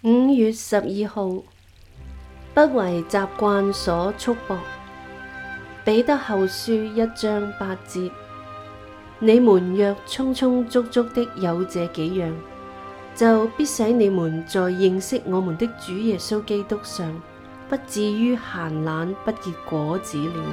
5月12號，不為習慣所束縛。彼得後書1章8節：你們若充充足足的有這幾樣，就必使你們在認識我們的主耶穌基督上，不至於閒懶不結果子了。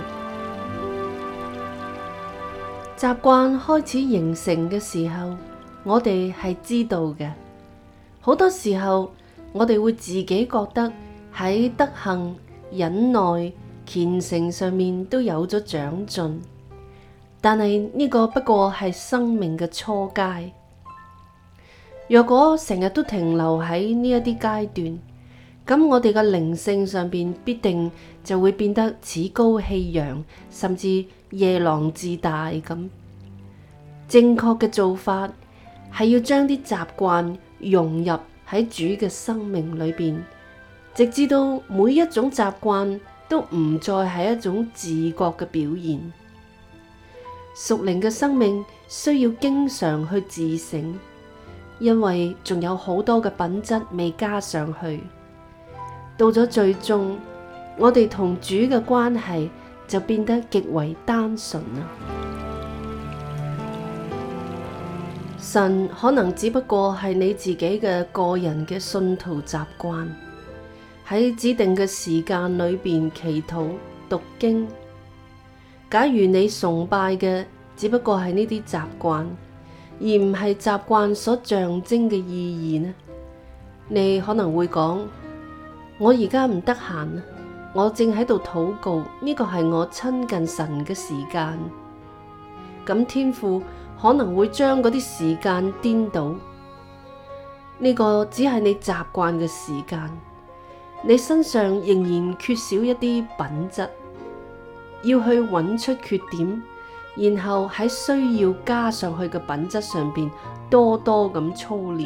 習慣開始形成嘅時候，我哋係知道嘅。好多時候，我哋會自己覺得喺德行、忍耐、虔誠上面都有咗長進，但係呢個不過係生命嘅初階。若果成日都停留喺呢一啲階段，咁我哋嘅靈性上邊必定就會變得趾高氣揚，甚至夜郎自大咁。正確嘅做法係要將啲習慣融入喺主嘅生命裏邊，直至到每一種習慣都唔再係一種自覺嘅表現。屬靈嘅生命需要經常去自省，因為仲有好多嘅品質未加上去。到咗最終，我哋同主嘅關係就變得極為單純啦。神可能只不過係你自己嘅個人嘅信徒習慣，喺指定嘅時間裏邊祈禱讀經。假如你崇拜嘅只不過係呢啲習慣，而唔係習慣所象徵嘅意義呢？你可能會講：我而家唔得閒，我正喺度禱告，呢個係我親近神嘅時間。咁天父可能會將嗰啲時間顛倒，呢個只係你習慣嘅時間，你身上仍然缺少一啲品質，要去揾出缺點，然後喺需要加上去嘅品質上邊多多咁操練。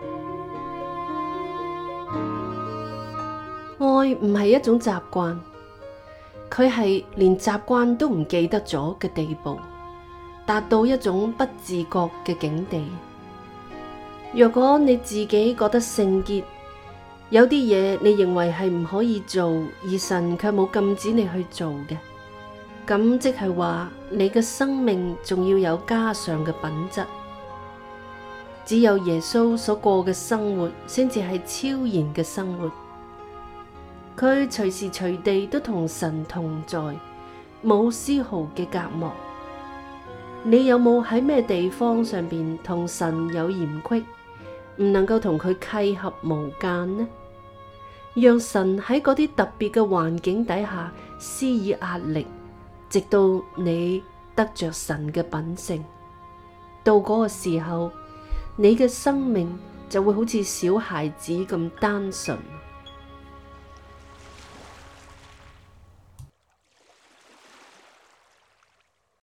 愛唔係一種習慣，佢係連習慣都唔記得咗嘅地步，達到一種不自覺嘅境地。若果你自己覺得聖潔，有啲嘢你認為係唔可以做，而神卻冇禁止你去做嘅，咁即係話你嘅生命仲要有加上嘅品質。只有耶穌所過嘅生活，先至係超然嘅生活。佢隨時隨地都同神同在，冇絲毫嘅隔膜。你有冇喺咩地方上邊同神有嫌隙，唔能夠同佢契合無間呢？讓神喺嗰啲特別嘅環境底下施以壓力，直到你得着神嘅品性。到嗰個時候，你嘅生命就會好似小孩子咁單純。